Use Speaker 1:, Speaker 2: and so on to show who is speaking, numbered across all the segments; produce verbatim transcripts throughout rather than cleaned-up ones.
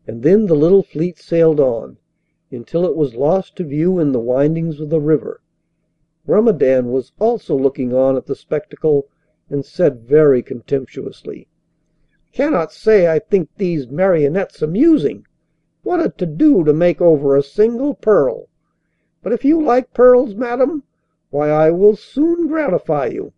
Speaker 1: and then the little fleet sailed on, until it was lost to view in the windings of the river. Grumedan was also looking on at the spectacle, and said very contemptuously: 'Cannot say I think these marionettes amusing. What a to do to make over a single pearl! But if you like pearls, madam, why I will soon gratify you.'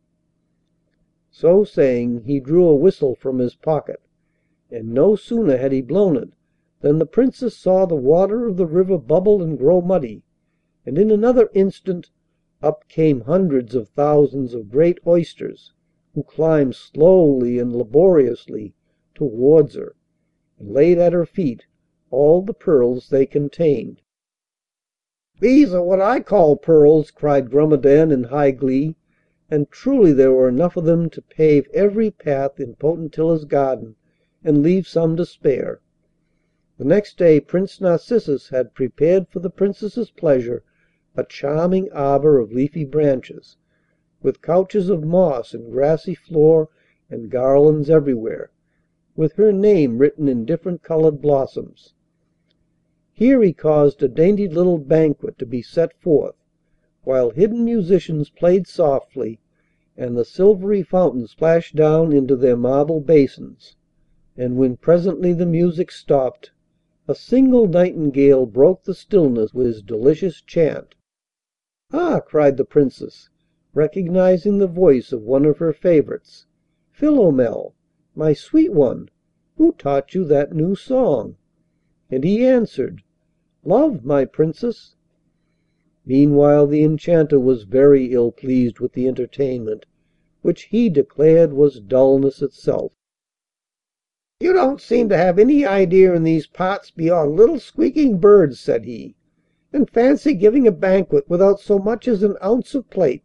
Speaker 1: So saying, he drew a whistle from his pocket, and no sooner had he blown it than the Princess saw the water of the river bubble and grow muddy, and in another instant up came hundreds of thousands of great oysters, who climbed slowly and laboriously towards her, and laid at her feet all the pearls they contained. 'These are what I call pearls!' cried Grumedan in high glee, and truly there were enough of them to pave every path in Potentilla's garden and leave some to spare. The next day Prince Narcissus had prepared for the Princess's pleasure a charming arbour of leafy branches, with couches of moss and grassy floor and garlands everywhere, with her name written in different coloured blossoms. Here he caused a dainty little banquet to be set forth, while hidden musicians played softly, and the silvery fountains splashed down into their marble basins. And when presently the music stopped, a single nightingale broke the stillness with his delicious chant. 'Ah!' cried the Princess, recognizing the voice of one of her favourites, 'Philomel, my sweet one, who taught you that new song?' And he answered, 'Love, my Princess.' Meanwhile the Enchanter was very ill pleased with the entertainment, which he declared was dullness itself. 'You don't seem to have any idea in these parts beyond little squeaking birds,' said he, 'and fancy giving a banquet without so much as an ounce of plate.'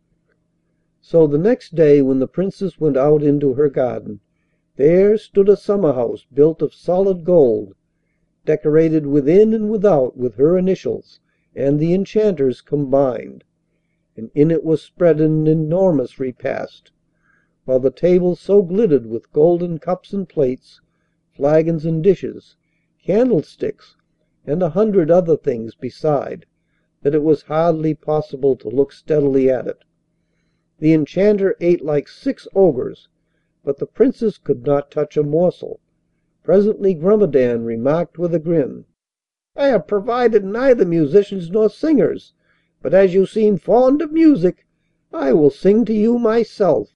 Speaker 1: So the next day when the Princess went out into her garden, there stood a summer house built of solid gold, decorated within and without with her initials and the Enchanter's combined, and in it was spread an enormous repast, while the table so glittered with golden cups and plates, flagons and dishes, candlesticks, and a hundred other things beside, that it was hardly possible to look steadily at it. The Enchanter ate like six ogres, but the Princess could not touch a morsel. Presently Grumedan remarked with a grin: 'I have provided neither musicians nor singers, but as you seem fond of music, I will sing to you myself.'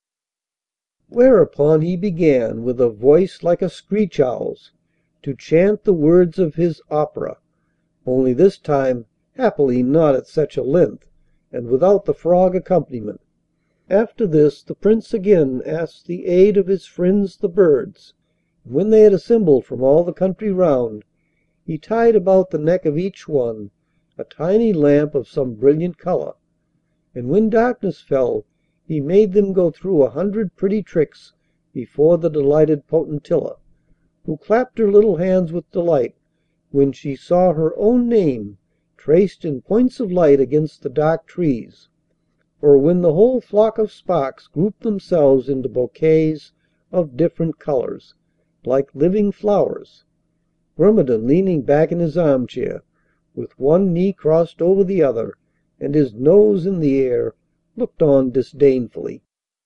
Speaker 1: Whereupon he began, with a voice like a screech owl's, to chant the words of his opera, only this time happily not at such a length, and without the frog accompaniment. After this the Prince again asked the aid of his friends the birds, and when they had assembled from all the country round, he tied about the neck of each one a tiny lamp of some brilliant colour, and when darkness fell he made them go through a hundred pretty tricks before the delighted Potentilla, who clapped her little hands with delight when she saw her own name traced in points of light against the dark trees, or when the whole flock of sparks grouped themselves into bouquets of different colours, like living flowers. Grumedan, leaning back in his armchair, with one knee crossed over the other and his nose in the air, looked on disdainfully.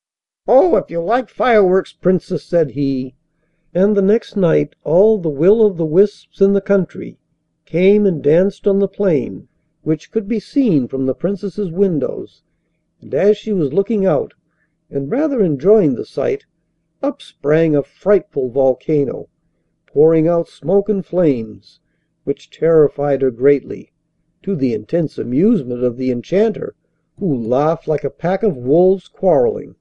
Speaker 1: 'Oh, if you like fireworks, Princess,' said he. And the next night all the will o' the wisps in the country came and danced on the plain, which could be seen from the Princess's windows, and as she was looking out, and rather enjoying the sight, up sprang a frightful volcano, pouring out smoke and flames, which terrified her greatly, to the intense amusement of the Enchanter, who laughed like a pack of wolves quarrelling.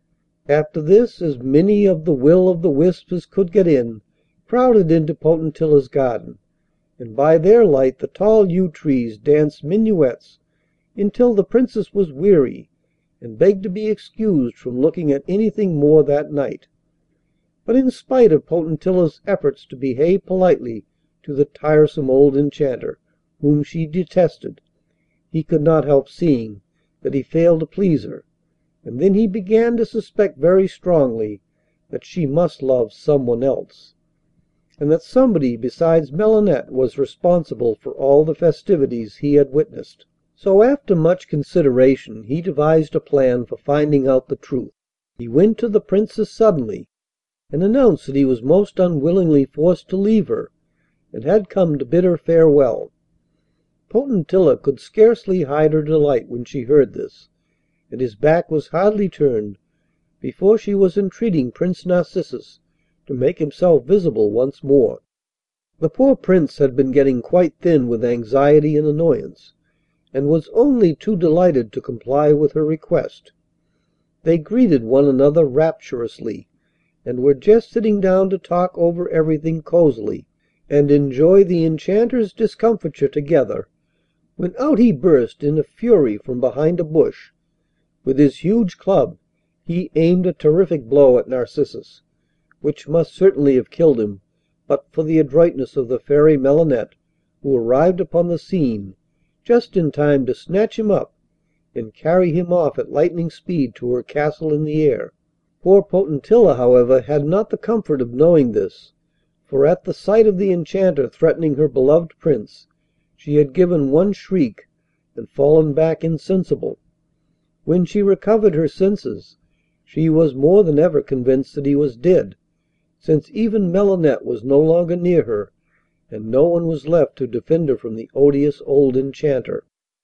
Speaker 1: After this as many of the will o' the wisps as could get in crowded into Potentilla's garden, and by their light the tall yew trees danced minuets until the Princess was weary and begged to be excused from looking at anything more that night. But in spite of Potentilla's efforts to behave politely to the tiresome old Enchanter, whom she detested, he could not help seeing that he failed to please her, and then he began to suspect very strongly that she must love someone else. and that somebody besides Melinette was responsible for all the festivities he had witnessed. So after much consideration he devised a plan for finding out the truth. He went to the Princess suddenly and announced that he was most unwillingly forced to leave her, and had come to bid her farewell. Potentilla could scarcely hide her delight when she heard this, and his back was hardly turned before she was entreating Prince Narcissus to make himself visible once more. The poor Prince had been getting quite thin with anxiety and annoyance, and was only too delighted to comply with her request. They greeted one another rapturously, and were just sitting down to talk over everything cosily, and enjoy the Enchanter's discomfiture together, when out he burst in a fury from behind a bush. With his huge club he aimed a terrific blow at Narcissus, which must certainly have killed him but for the adroitness of the Fairy Melinette, who arrived upon the scene just in time to snatch him up and carry him off at lightning speed to her castle in the air. Poor Potentilla, however, had not the comfort of knowing this, for at the sight of the Enchanter threatening her beloved Prince she had given one shriek and fallen back insensible. When she recovered her senses she was more than ever convinced that he was dead, since even Melinette was no longer near her, and no one was left to defend her from the odious old Enchanter.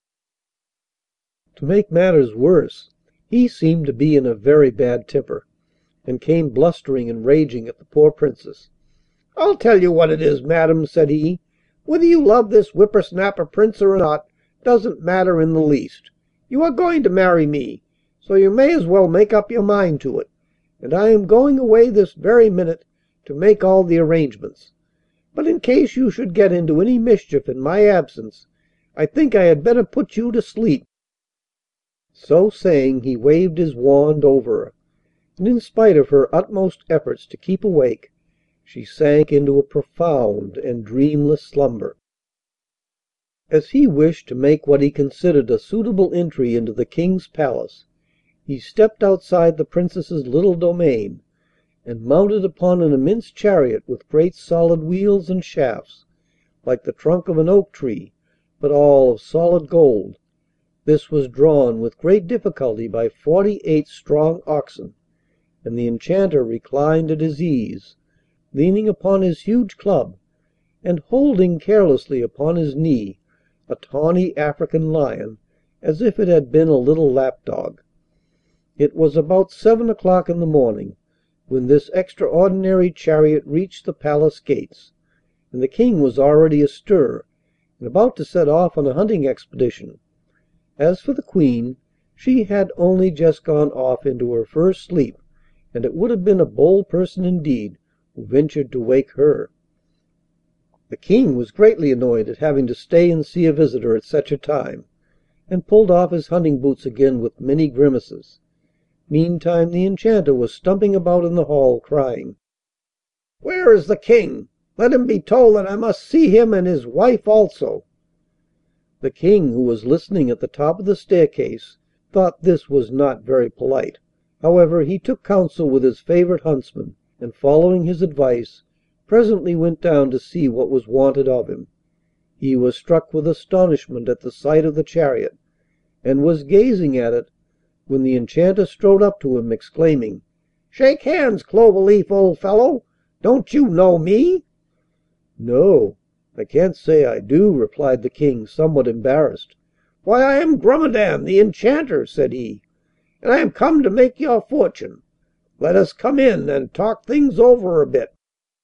Speaker 1: To make matters worse, he seemed to be in a very bad temper, and came blustering and raging at the poor Princess. "I'll tell you what it is, madam," said he, "whether you love this whippersnapper Prince or not doesn't matter in the least. You are going to marry me, so you may as well make up your mind to it, and I am going away this very minute to make all the arrangements. But in case you should get into any mischief in my absence, I think I had better put you to sleep." So saying, he waved his wand over her, and in spite of her utmost efforts to keep awake, she sank into a profound and dreamless slumber. As he wished to make what he considered a suitable entry into the King's palace, he stepped outside the Princess's little domain, and mounted upon an immense chariot with great solid wheels and shafts, like the trunk of an oak tree, but all of solid gold. This was drawn with great difficulty by forty-eight strong oxen, and the Enchanter reclined at his ease, leaning upon his huge club, and holding carelessly upon his knee a tawny African lion, as if it had been a little lap dog. It was about seven o'clock in the morning when this extraordinary chariot reached the palace gates, and the King was already astir and about to set off on a hunting expedition. As for the Queen, she had only just gone off into her first sleep, and it would have been a bold person indeed who ventured to wake her. The King was greatly annoyed at having to stay and see a visitor at such a time, and pulled off his hunting boots again with many grimaces. Meantime the Enchanter was stumping about in the hall, crying, "Where is the King? Let him be told that I must see him and his wife also." The King, who was listening at the top of the staircase, thought this was not very polite. However, he took counsel with his favourite huntsman, and following his advice, presently went down to see what was wanted of him. He was struck with astonishment at the sight of the chariot, and was gazing at it when the Enchanter strode up to him, exclaiming, "Shake hands, Cloverleaf, old fellow! Don't you know me?" "No, I can't say I do," replied the King, somewhat embarrassed. "Why, I am Grumedan, the Enchanter," said he, "and I am come to make your fortune. Let us come in and talk things over a bit."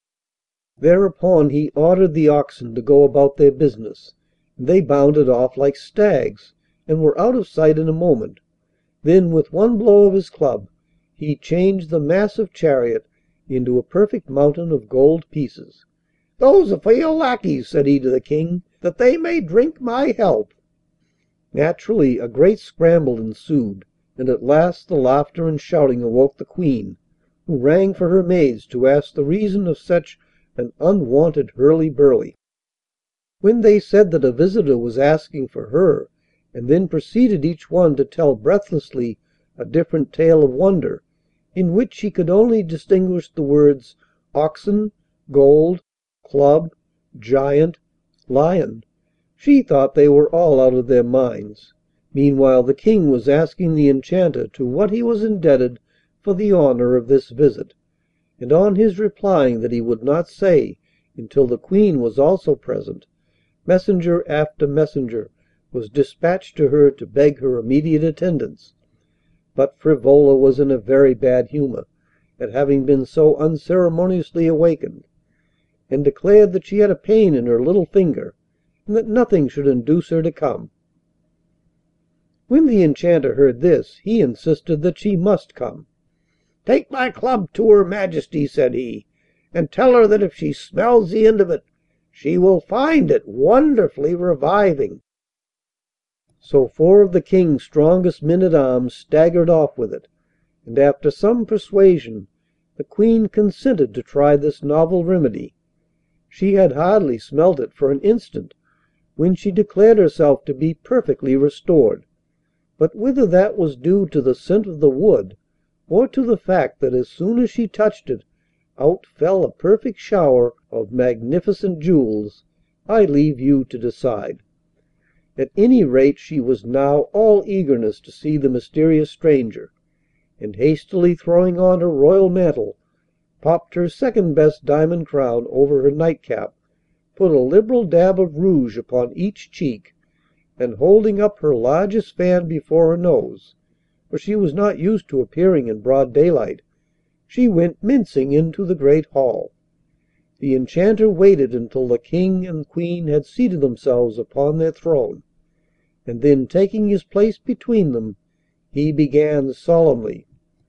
Speaker 1: Thereupon he ordered the oxen to go about their business, and they bounded off like stags, and were out of sight in a moment. Then, with one blow of his club, he changed the massive chariot into a perfect mountain of gold pieces. "Those are for your lackeys," said he to the King, "that they may drink my health." Naturally a great scramble ensued, and at last the laughter and shouting awoke the Queen, who rang for her maids to ask the reason of such an unwonted hurly-burly. When they said that a visitor was asking for her, and then proceeded each one to tell breathlessly a different tale of wonder, in which she could only distinguish the words oxen, gold, club, giant, lion. She thought they were all out of their minds. Meanwhile the King was asking the Enchanter to what he was indebted for the honour of this visit, and on his replying that he would not say until the Queen was also present, messenger after messenger was dispatched to her to beg her immediate attendance. But Frivola was in a very bad humour at having been so unceremoniously awakened, and declared that she had a pain in her little finger, and that nothing should induce her to come. When the Enchanter heard this, he insisted that she must come. "Take my club to Her Majesty," said he, "and tell her that if she smells the end of it she will find it wonderfully reviving." So four of the King's strongest men at arms staggered off with it, and after some persuasion the Queen consented to try this novel remedy. She had hardly smelt it for an instant when she declared herself to be perfectly restored, but whether that was due to the scent of the wood, or to the fact that as soon as she touched it out fell a perfect shower of magnificent jewels, I leave you to decide. At any rate she was now all eagerness to see the mysterious stranger, and hastily throwing on her royal mantle, popped her second best diamond crown over her nightcap, put a liberal dab of rouge upon each cheek, and holding up her largest fan before her nose, for she was not used to appearing in broad daylight, she went mincing into the great hall. The Enchanter waited until the King and Queen had seated themselves upon their throne, and then, taking his place between them, he began solemnly: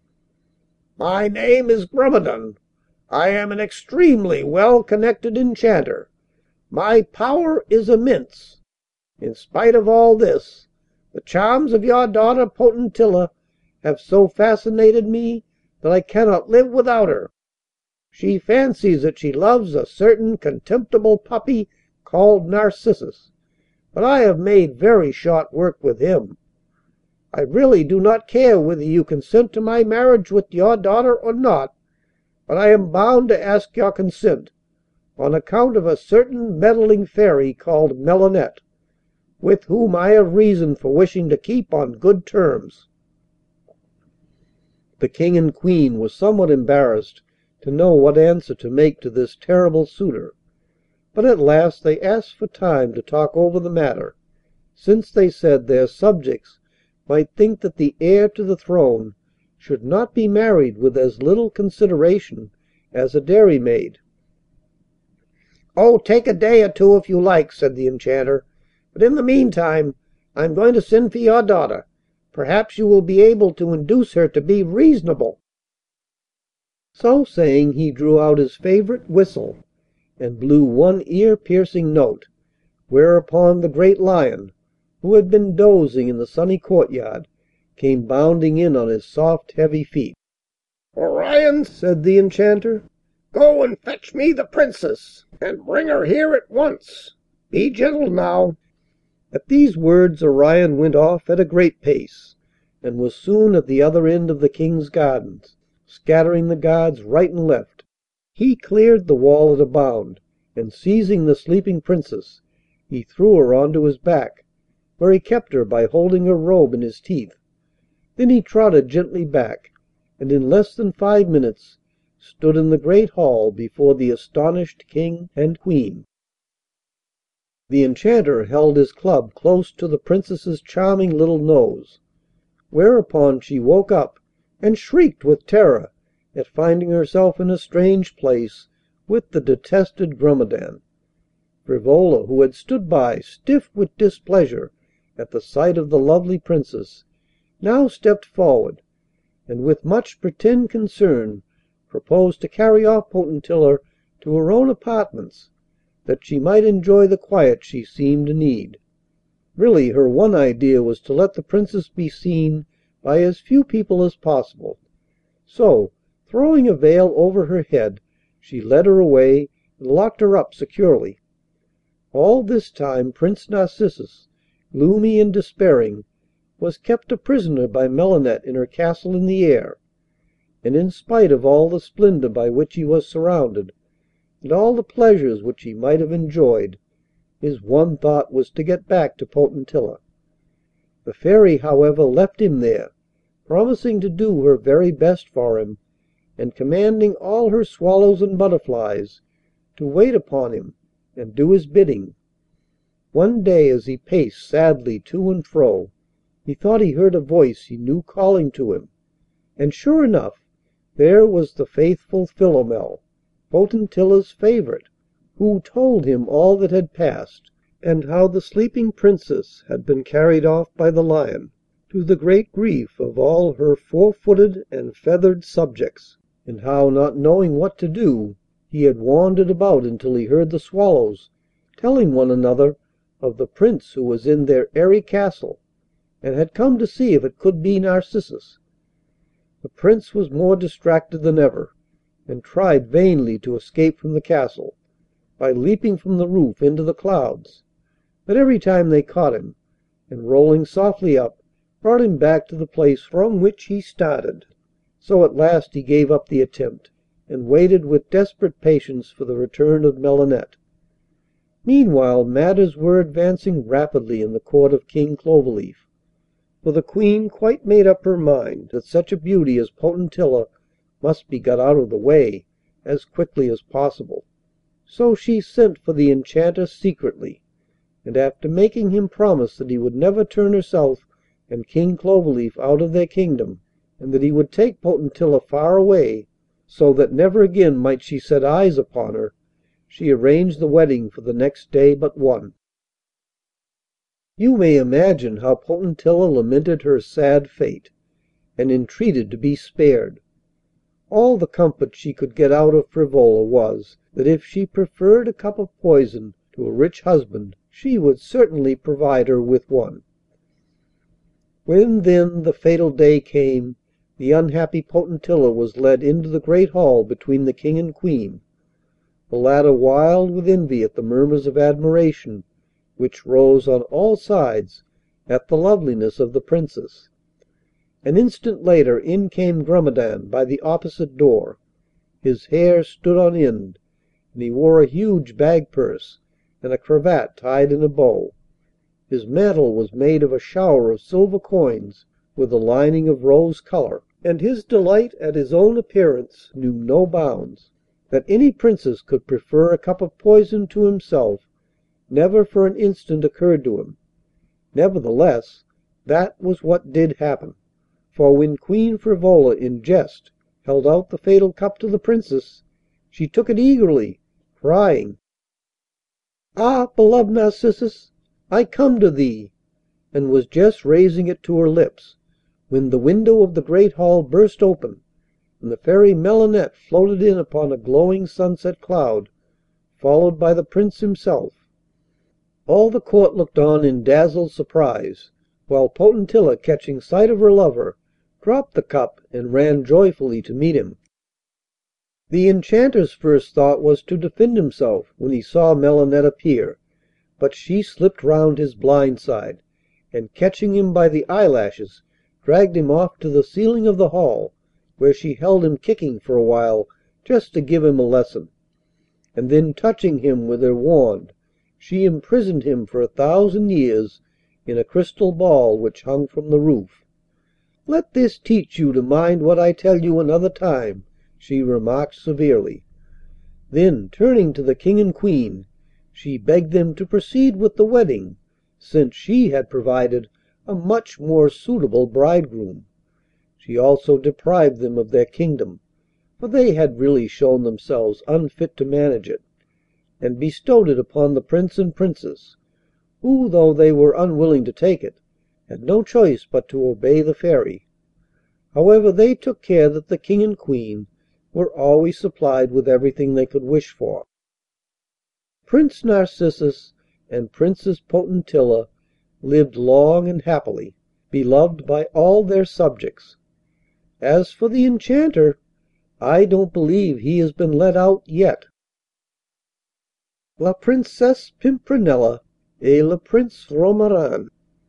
Speaker 1: "My name is Grumedan. I am an extremely well connected enchanter. My power is immense. In spite of all this, the charms of your daughter Potentilla have so fascinated me that I cannot live without her. She fancies that she loves a certain contemptible puppy called Narcissus, but I have made very short work with him. I really do not care whether you consent to my marriage with your daughter or not, but I am bound to ask your consent on account of a certain meddling fairy called Melinette, with whom I have reason for wishing to keep on good terms." The King and Queen were somewhat embarrassed to know what answer to make to this terrible suitor, but at last they asked for time to talk over the matter, since they said their subjects might think that the heir to the throne should not be married with as little consideration as a dairymaid. "Oh, take a day or two if you like," said the Enchanter, "but in the meantime I am going to send for your daughter. Perhaps you will be able to induce her to be reasonable." So saying, he drew out his favourite whistle and blew one ear-piercing note, whereupon the great lion, who had been dozing in the sunny courtyard, came bounding in on his soft heavy feet. "Orion," said the Enchanter, "go and fetch me the Princess, and bring her here at once. Be gentle now." At these words Orion went off at a great pace, and was soon at the other end of the King's gardens, scattering the guards right and left. He cleared the wall at a bound, and seizing the sleeping Princess, he threw her on to his back, where he kept her by holding her robe in his teeth. Then he trotted gently back, and in less than five minutes stood in the great hall before the astonished King and Queen. The Enchanter held his club close to the Princess's charming little nose, whereupon she woke up and shrieked with terror at finding herself in a strange place with the detested Grumedan. Frivola, who had stood by, stiff with displeasure at the sight of the lovely Princess, now stepped forward, and with much pretended concern proposed to carry off Potentilla to her own apartments, that she might enjoy the quiet she seemed to need. Really her one idea was to let the Princess be seen by as few people as possible, so, throwing a veil over her head, she led her away and locked her up securely. All this time Prince Narcissus, gloomy and despairing, was kept a prisoner by Melinette in her castle in the air, and in spite of all the splendour by which he was surrounded, and all the pleasures which he might have enjoyed, his one thought was to get back to Potentilla. The Fairy, however, left him there, promising to do her very best for him, and commanding all her swallows and butterflies to wait upon him and do his bidding. One day, as he paced sadly to and fro, he thought he heard a voice he knew calling to him, and sure enough there was the faithful Philomel, Potentilla's favourite, who told him all that had passed, and how the sleeping Princess had been carried off by the lion, to the great grief of all her four footed and feathered subjects, and how, not knowing what to do, he had wandered about until he heard the swallows telling one another of the Prince who was in their airy castle, and had come to see if it could be Narcissus. The Prince was more distracted than ever, and tried vainly to escape from the castle by leaping from the roof into the clouds, but every time they caught him, and rolling softly up, brought him back to the place from which he started. So at last he gave up the attempt, and waited with desperate patience for the return of Melinette. Meanwhile matters were advancing rapidly in the court of King Cloverleaf, for the Queen quite made up her mind that such a beauty as Potentilla must be got out of the way as quickly as possible. So she sent for the Enchanter secretly, and after making him promise that he would never turn herself and King Cloverleaf out of their kingdom, and that he would take Potentilla far away, so that never again might she set eyes upon her, she arranged the wedding for the next day but one. You may imagine how Potentilla lamented her sad fate, and entreated to be spared. All the comfort she could get out of Frivola was, that if she preferred a cup of poison to a rich husband, she would certainly provide her with one. When, then, the fatal day came, the unhappy Potentilla was led into the great hall between the King and Queen, the latter wild with envy at the murmurs of admiration which rose on all sides at the loveliness of the Princess. An instant later in came Grumedan by the opposite door. His hair stood on end, and he wore a huge bag purse and a cravat tied in a bow. His mantle was made of a shower of silver coins with a lining of rose colour, and his delight at his own appearance knew no bounds. That any Princess could prefer a cup of poison to himself never for an instant occurred to him. Nevertheless, that was what did happen, for when Queen Frivola in jest held out the fatal cup to the Princess, she took it eagerly, crying, "Ah, beloved Narcissus, I come to thee," and was just raising it to her lips when the window of the great hall burst open, and the Fairy Melinette floated in upon a glowing sunset cloud, followed by the Prince himself. All the court looked on in dazzled surprise, while Potentilla, catching sight of her lover, dropped the cup and ran joyfully to meet him. The Enchanter's first thought was to defend himself when he saw Melinette appear, but she slipped round his blind side, and catching him by the eyelashes, dragged him off to the ceiling of the hall, where she held him kicking for a while just to give him a lesson, and then touching him with her wand, she imprisoned him for a thousand years in a crystal ball which hung from the roof. "Let this teach you to mind what I tell you another time," she remarked severely. Then, turning to the King and Queen, she begged them to proceed with the wedding, since she had provided a much more suitable bridegroom. She also deprived them of their kingdom, for they had really shown themselves unfit to manage it, and bestowed it upon the Prince and Princess, who, though they were unwilling to take it, had no choice but to obey the Fairy. However, they took care that the King and Queen were always supplied with everything they could wish for. Prince Narcissus and Princess Potentilla lived long and happily, beloved by all their subjects. As for the Enchanter, I don't believe he has been let out yet. La Princesse Pimprenella et le Prince Romarin.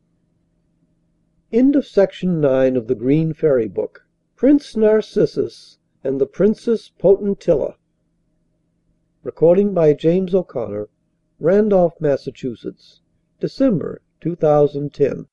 Speaker 1: End of Section nine of the Green Fairy Book. Prince Narcissus and the Princess Potentilla. Recording by James O'Connor, Randolph, Massachusetts, December, two thousand ten.